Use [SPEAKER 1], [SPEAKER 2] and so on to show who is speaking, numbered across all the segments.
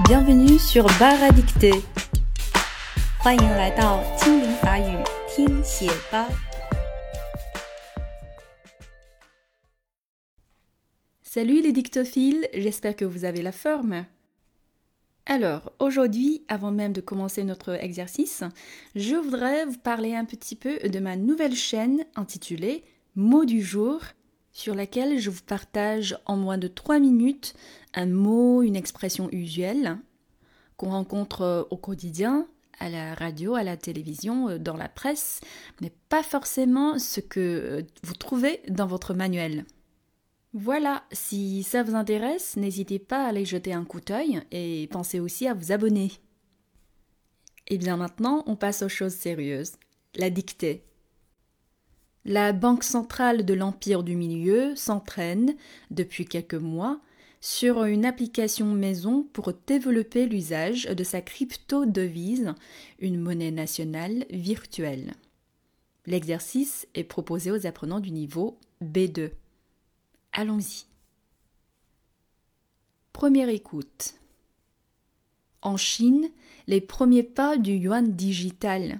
[SPEAKER 1] Bienvenue sur Bar à dicter. 欢迎来到精灵法语听写吧。Salut les dictophiles, j'espère que vous avez la forme. Alors, aujourd'hui, avant même de commencer notre exercice, je voudrais vous parler un petit peu de ma nouvelle chaîne intitulée Mots du jour, sur laquelle je vous partage en moins de 3 minutes un mot, une expression usuelle qu'on rencontre au quotidien, à la radio, à la télévision, dans la presse, mais pas forcément ce que vous trouvez dans votre manuel. Voilà, si ça vous intéresse, n'hésitez pas à aller jeter un coup d'œil et pensez aussi à vous abonner. Et bien maintenant, on passe aux choses sérieuses. La dictée. La Banque centrale de l'Empire du Milieu s'entraîne, depuis quelques mois, sur une application maison pour développer l'usage de sa crypto-devise, une monnaie nationale virtuelle. L'exercice est proposé aux apprenants du niveau B2. Allons-y. Première écoute. En Chine, les premiers pas du yuan digital.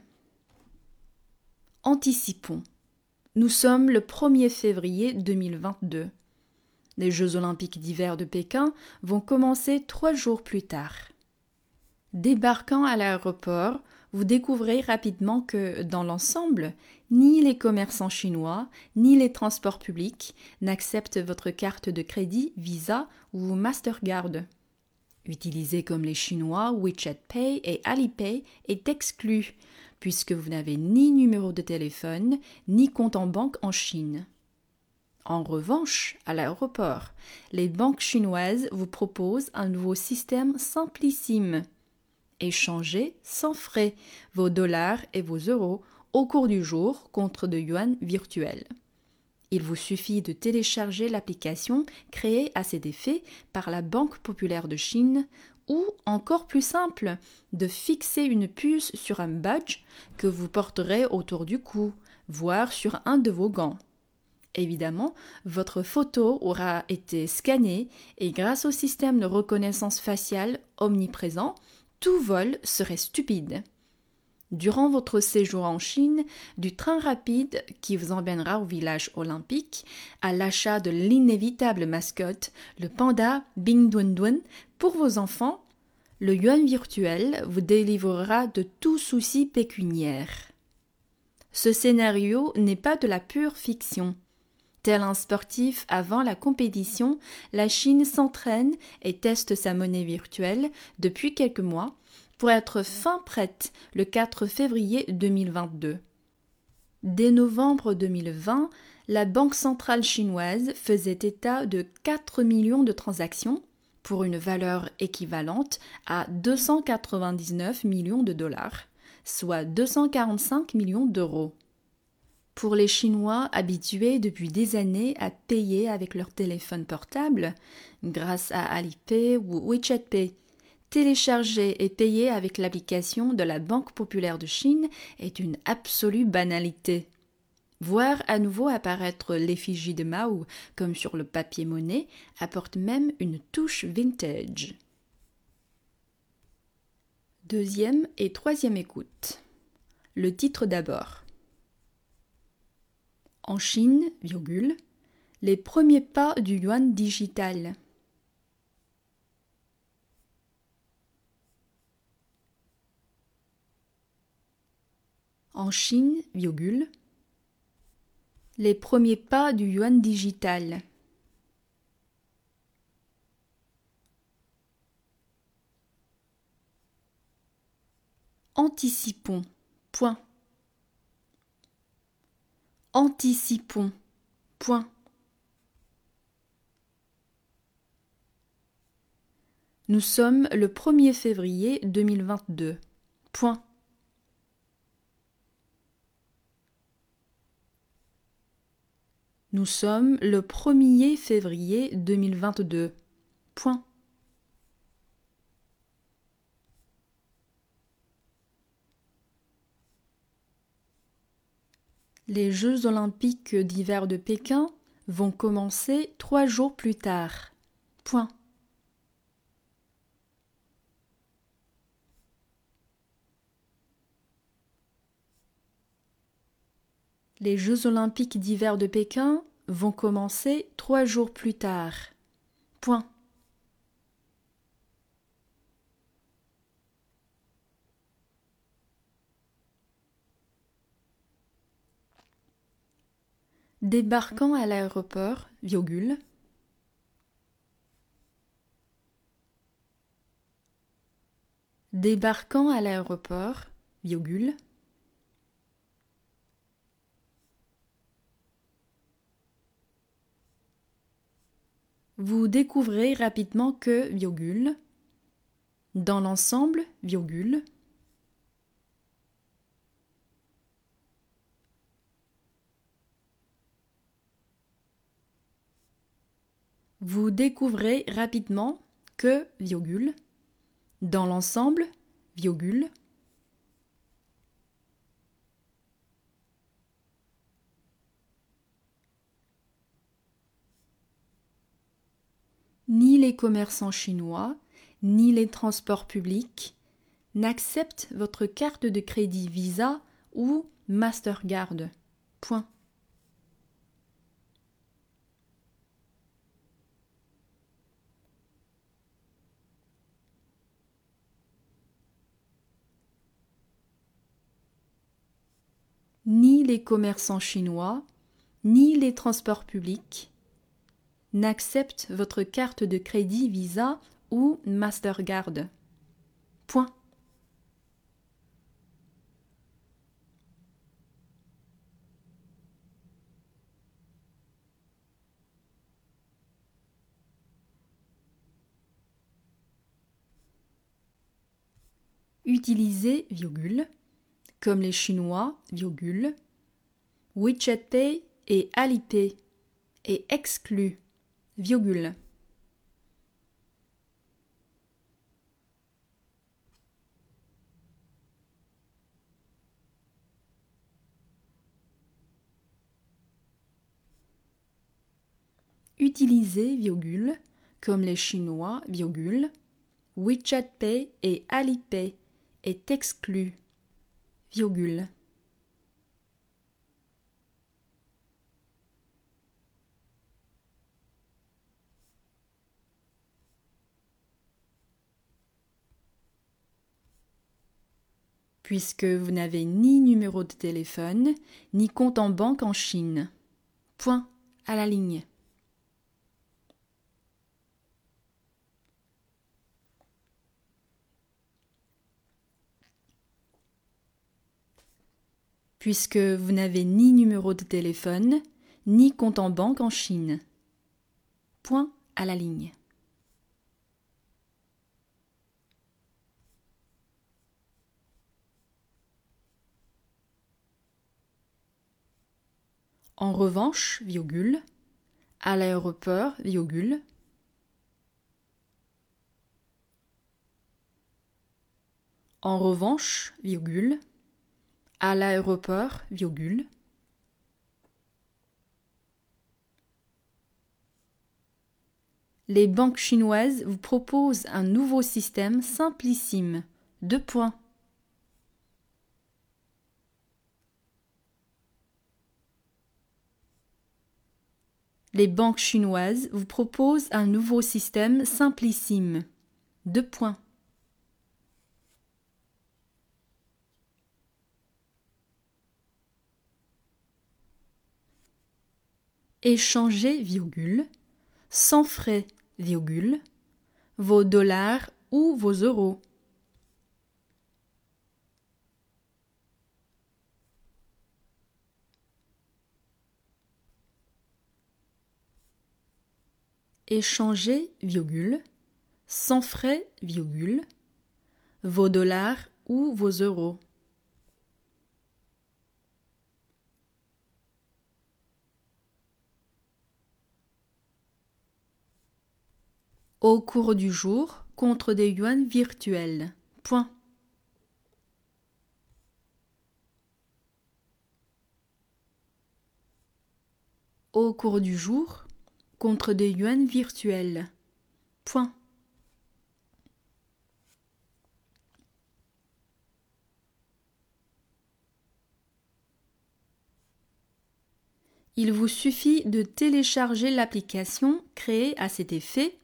[SPEAKER 1] Anticipons. Nous sommes le 1er février 2022. Les Jeux olympiques d'hiver de Pékin vont commencer 3 jours plus tard. Débarquant à l'aéroport, vous découvrez rapidement que, dans l'ensemble, ni les commerçants chinois, ni les transports publics n'acceptent votre carte de crédit Visa ou Mastercard. Utiliser comme les Chinois, WeChat Pay et Alipay est exclu, puisque vous n'avez ni numéro de téléphone, ni compte en banque en Chine. En revanche, à l'aéroport, les banques chinoises vous proposent un nouveau système simplissime. Échangez sans frais vos dollars et vos euros au cours du jour contre de yuan virtuels. Il vous suffit de télécharger l'application créée à cet effet par la Banque populaire de Chine ou, encore plus simple, de fixer une puce sur un badge que vous porterez autour du cou, voire sur un de vos gants. Évidemment, votre photo aura été scannée et grâce au système de reconnaissance faciale omniprésent, tout vol serait stupide. Durant votre séjour en Chine, du train rapide qui vous emmènera au village olympique, à l'achat de l'inévitable mascotte, le panda Bing Dun Dun, pour vos enfants, le yuan virtuel vous délivrera de tout souci pécuniaire. Ce scénario n'est pas de la pure fiction. Tel un sportif avant la compétition, la Chine s'entraîne et teste sa monnaie virtuelle depuis quelques mois pour être fin prête le 4 février 2022. Dès novembre 2020, la Banque centrale chinoise faisait état de 4 millions de transactions pour une valeur équivalente à 299 millions de dollars, soit 245 millions d'euros. Pour les Chinois habitués depuis des années à payer avec leur téléphone portable, grâce à Alipay ou WeChat Pay, télécharger et payer avec l'application de la Banque populaire de Chine est une absolue banalité. Voir à nouveau apparaître l'effigie de Mao comme sur le papier monnaie apporte même une touche vintage. Deuxième et troisième écoute. Le titre d'abord. En Chine, les premiers pas du yuan digital. En Chine, les premiers pas du yuan digital. Anticipons. Point. Anticipons. Point. Nous sommes le 1er février 2022. Point. Nous sommes le 1er février 2022. Point. Les Jeux olympiques d'hiver de Pékin vont commencer 3 jours plus tard. Point. Les Jeux olympiques d'hiver de Pékin vont commencer 3 jours plus tard. Point. Débarquant à l'aéroport, virgule. Débarquant à l'aéroport, virgule. Vous découvrez rapidement que, virgule. Dans l'ensemble, virgule. Vous découvrez rapidement que, virgule. Dans l'ensemble, virgule. Ni les commerçants chinois, ni les transports publics n'acceptent votre carte de crédit Visa ou Mastercard. Point. Ni les commerçants chinois, ni les transports publics n'acceptent votre carte de crédit Visa ou Mastercard. Point. Utilisez, virgule, comme les Chinois, virgule, WeChat Pay et Alipay est exclu, virgule. Utilisez, virgule, comme les Chinois, virgule, WeChat Pay et Alipay est exclu, virgule. Puisque vous n'avez ni numéro de téléphone, ni compte en banque en Chine. Point à la ligne. Puisque vous n'avez ni numéro de téléphone, ni compte en banque en Chine. Point à la ligne. En revanche, virgule, à l'aéroport, virgule, en revanche, virgule, à l'aéroport, virgule, les banques chinoises vous proposent un nouveau système simplissime. 2 points. Les banques chinoises vous proposent un nouveau système simplissime. 2 points. Échangez, virgule, sans frais, virgule, vos dollars ou vos euros. Échangez, virgule, sans frais, virgule, vos dollars ou vos euros. Au cours du jour, contre des yuans virtuels. Point. Au cours du jour, contre des yuans virtuels. Point. Il vous suffit de télécharger l'application créée à cet effet.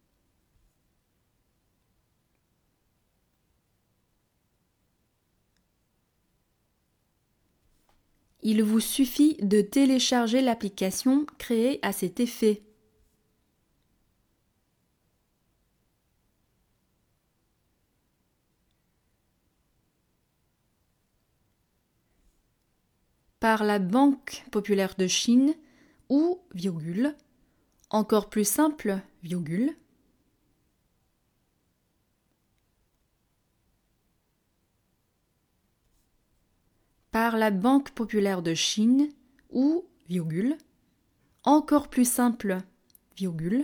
[SPEAKER 1] Il vous suffit de télécharger l'application créée à cet effet. Par la Banque populaire de Chine ou, virgule, encore plus simple, virgule, par la Banque populaire de Chine ou, virgule, encore plus simple, virgule,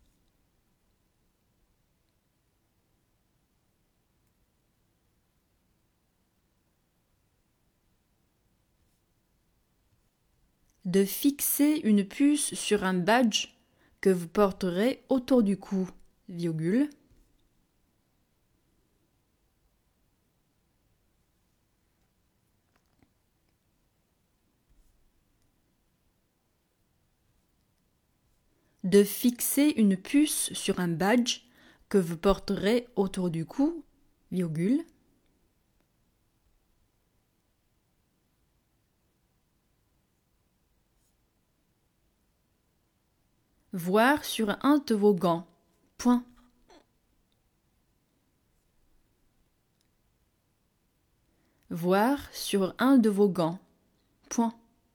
[SPEAKER 1] de fixer une puce sur un badge que vous porterez autour du cou, virgule, de fixer une puce sur un badge que vous porterez autour du cou, virgule, voir sur un de vos gants, point. Voir sur un de vos gants, point.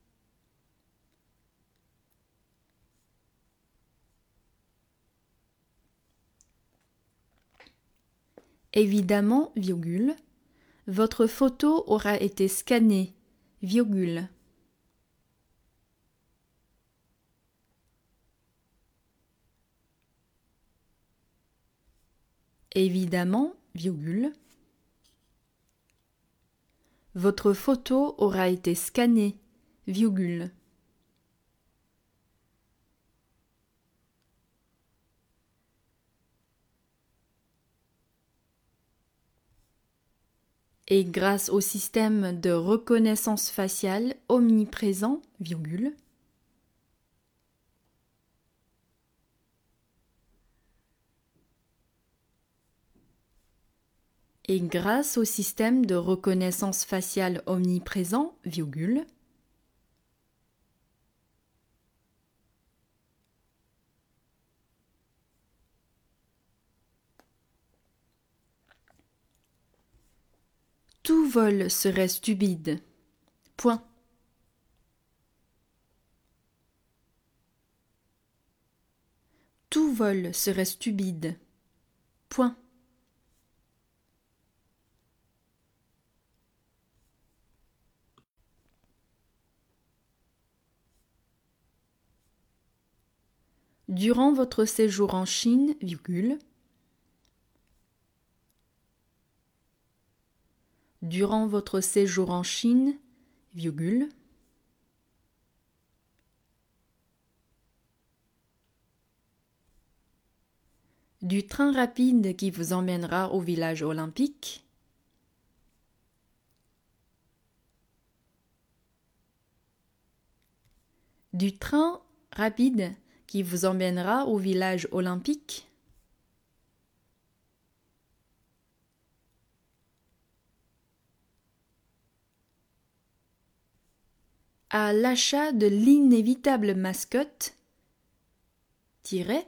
[SPEAKER 1] Évidemment, virgule, votre photo aura été scannée, virgule. Évidemment, virgule, votre photo aura été scannée, virgule. Et grâce au système de reconnaissance faciale omniprésent, virgule, et grâce au système de reconnaissance faciale omniprésent, virgule, tout vol serait stupide. Point. Tout vol serait stupide. Point. Durant votre séjour en Chine, virgule, durant votre séjour en Chine, virgule, du train rapide qui vous emmènera au village olympique, du train rapide qui vous emmènera au village olympique, à l'achat de l'inévitable mascotte, tiret,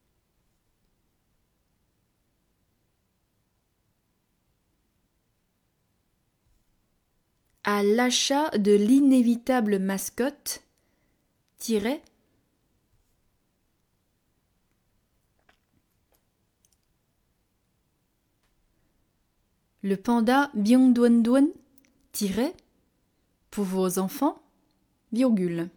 [SPEAKER 1] à l'achat de l'inévitable mascotte, tiret, le panda Byongduan, tiret, pour vos enfants, virgule.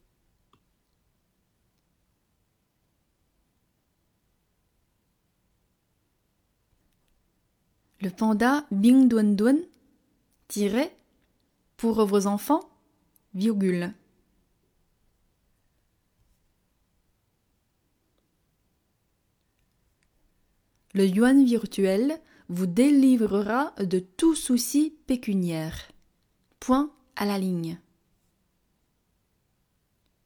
[SPEAKER 1] Le panda Byongduan, tiret, pour vos enfants, virgule. Le yuan virtuel vous délivrera de tout souci pécuniaire. Point à la ligne.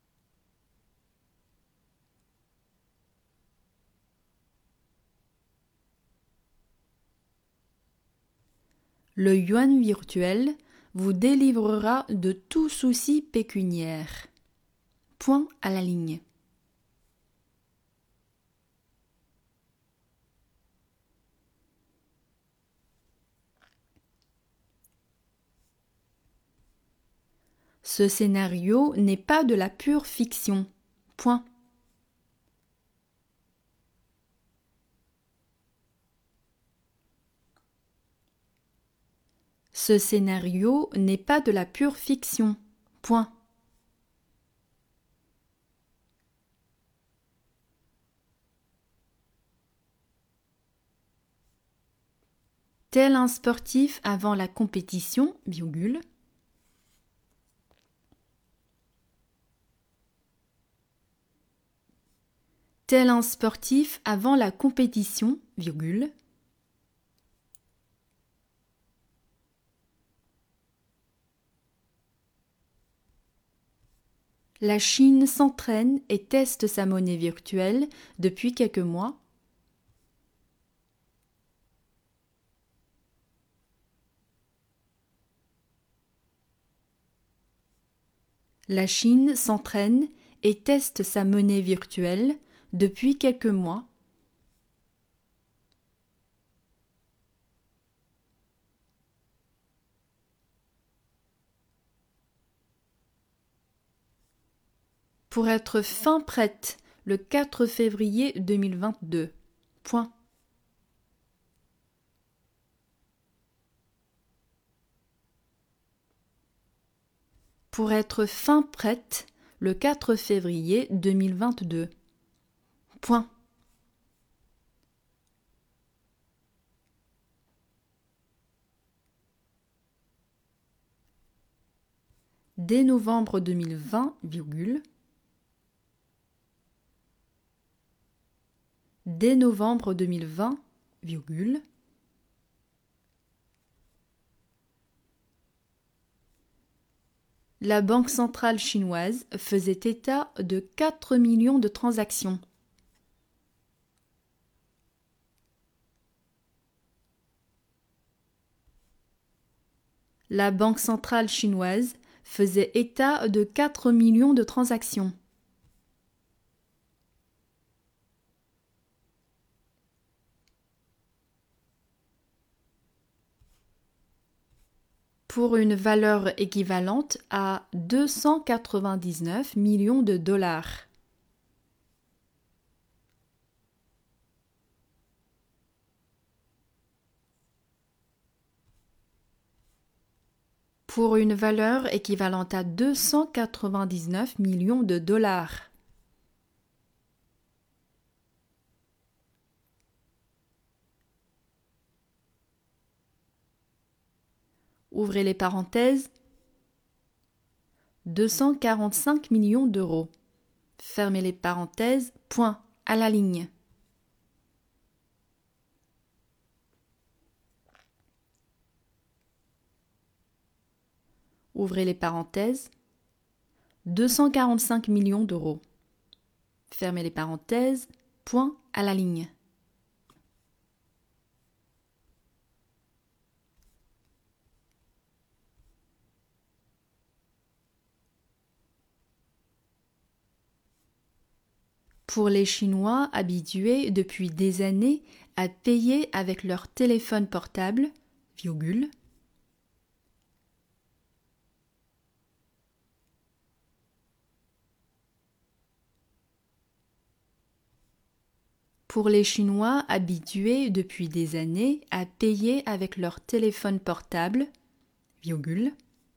[SPEAKER 1] Le yuan virtuel vous délivrera de tout souci pécuniaire. Point à la ligne. Ce scénario n'est pas de la pure fiction. Point. Ce scénario n'est pas de la pure fiction. Point. Tel un sportif avant la compétition, virgule. Tel un sportif avant la compétition, virgule. La Chine s'entraîne et teste sa monnaie virtuelle depuis quelques mois. La Chine s'entraîne et teste sa monnaie virtuelle depuis quelques mois. Pour être fin prête le 4 février 2022. Point. Pour être fin prête le 4 février 2022. Point. Dès novembre 2020, virgule. Dès novembre 2020, virgule. La Banque centrale chinoise faisait état de 4 millions de transactions. La Banque centrale chinoise faisait état de 4 millions de transactions. Pour une valeur équivalente à 299 millions de dollars. Pour une valeur équivalente à 299 millions de dollars. Ouvrez les parenthèses. 245 millions d'euros. Fermez les parenthèses. Point à la ligne. Ouvrez les parenthèses. 245 millions d'euros. Fermez les parenthèses. Point à la ligne. Pour les Chinois habitués depuis des années à payer avec leur téléphone portable, virgule. Pour les Chinois habitués depuis des années à payer avec leur téléphone portable, virgule.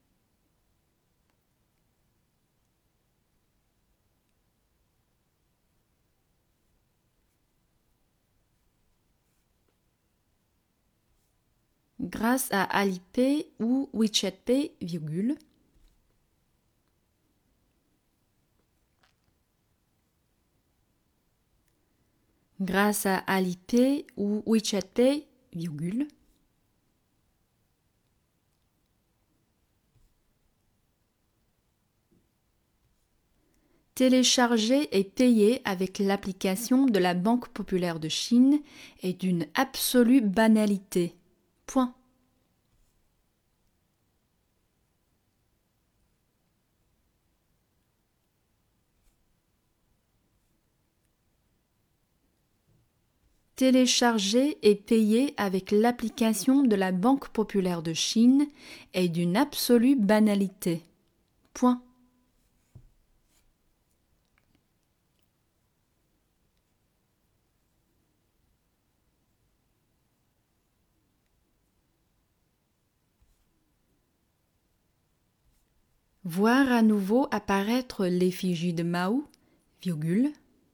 [SPEAKER 1] Grâce à Alipay ou WeChat Pay, virgule. Grâce à Alipay ou WeChat Pay, virgule. Télécharger et payer avec l'application de la Banque populaire de Chine est d'une absolue banalité. Point. Télécharger et payer avec l'application de la Banque populaire de Chine est d'une absolue banalité. Point. Voir à nouveau apparaître l'effigie de Mao, virgule.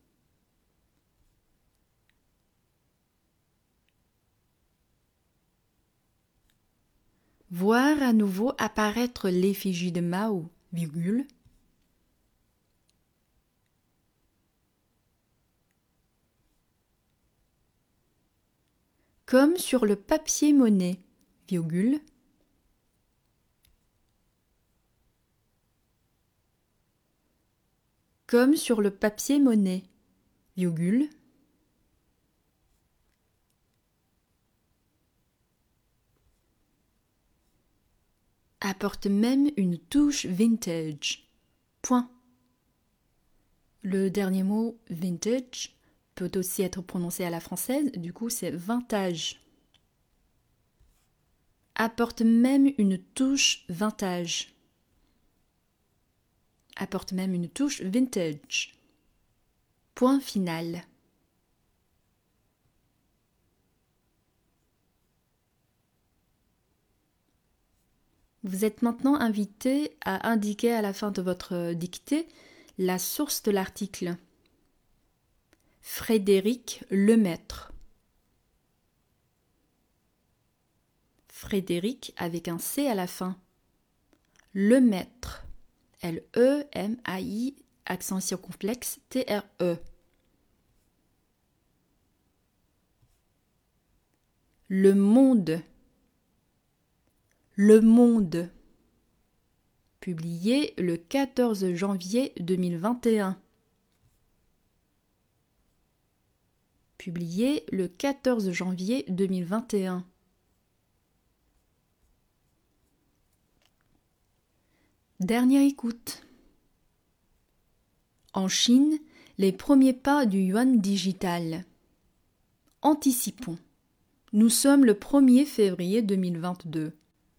[SPEAKER 1] Voir à nouveau apparaître l'effigie de Mao, virgule. Comme sur le papier-monnaie, virgule. Comme sur le papier-monnaie, virgule. Apporte même une touche vintage. Point. Le dernier mot vintage peut aussi être prononcé à la française, du coup c'est vintage. Apporte même une touche vintage. Apporte même une touche vintage. Point final. Vous êtes maintenant invité à indiquer à la fin de votre dictée la source de l'article. Frédéric Lemaître. Frédéric avec un C à la fin. Lemaître. L-E-M-A-I, accent circonflexe, T-R-E. Le Monde. Le Monde. Publié le 14 janvier 2021. Publié le 14 janvier 2021. Dernière écoute. En Chine, les premiers pas du yuan digital. Anticipons. Nous sommes le 1er février 2022.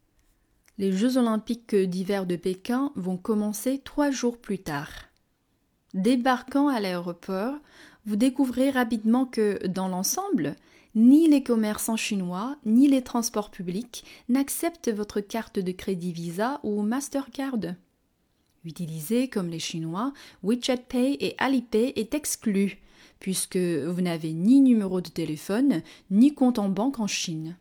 [SPEAKER 1] Les Jeux olympiques d'hiver de Pékin vont commencer 3 jours plus tard. Débarquant à l'aéroport, vous découvrez rapidement que, dans l'ensemble, ni les commerçants chinois, ni les transports publics n'acceptent votre carte de crédit Visa ou Mastercard. Utilisé comme les Chinois, WeChat Pay et Alipay est exclu, puisque vous n'avez ni numéro de téléphone, ni compte en banque en Chine.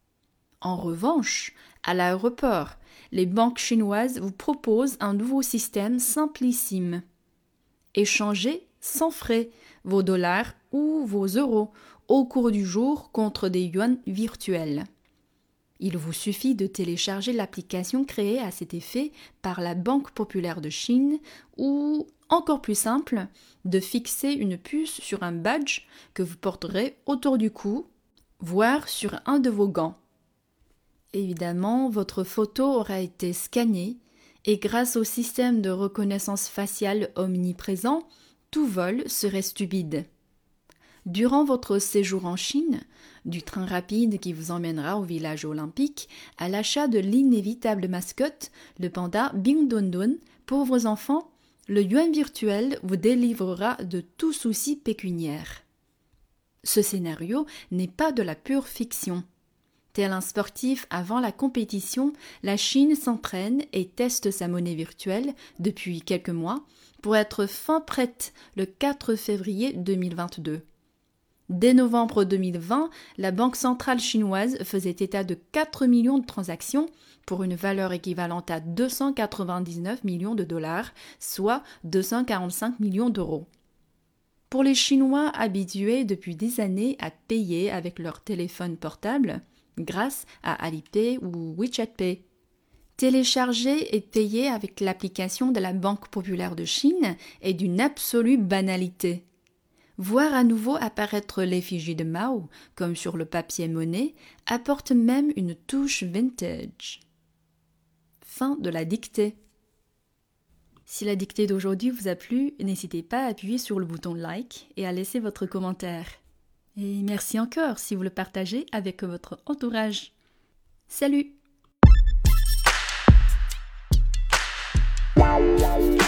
[SPEAKER 1] En revanche, à l'aéroport, les banques chinoises vous proposent un nouveau système simplissime. Échangez sans frais vos dollars ou vos euros au cours du jour contre des yuans virtuels. Il vous suffit de télécharger l'application créée à cet effet par la Banque populaire de Chine ou, encore plus simple, de fixer une puce sur un badge que vous porterez autour du cou, voire sur un de vos gants. Évidemment, votre photo aura été scannée et grâce au système de reconnaissance faciale omniprésent, tout vol serait stupide. Durant votre séjour en Chine, du train rapide qui vous emmènera au village olympique, à l'achat de l'inévitable mascotte, le panda Bingdondon, pour vos enfants, le yuan virtuel vous délivrera de tout souci pécuniaire. Ce scénario n'est pas de la pure fiction. Tel un sportif avant la compétition, la Chine s'entraîne et teste sa monnaie virtuelle depuis quelques mois pour être fin prête le 4 février 2022. Dès novembre 2020, la Banque centrale chinoise faisait état de 4 millions de transactions pour une valeur équivalente à 299 millions de dollars, soit 245 millions d'euros. Pour les Chinois habitués depuis des années à payer avec leur téléphone portable, grâce à Alipay ou WeChat Pay. Télécharger et payer avec l'application de la Banque populaire de Chine est d'une absolue banalité. Voir à nouveau apparaître l'effigie de Mao, comme sur le papier-monnaie, apporte même une touche vintage. Fin de la dictée. Si la dictée d'aujourd'hui vous a plu, n'hésitez pas à appuyer sur le bouton like et à laisser votre commentaire. Et merci encore si vous le partagez avec votre entourage. Salut!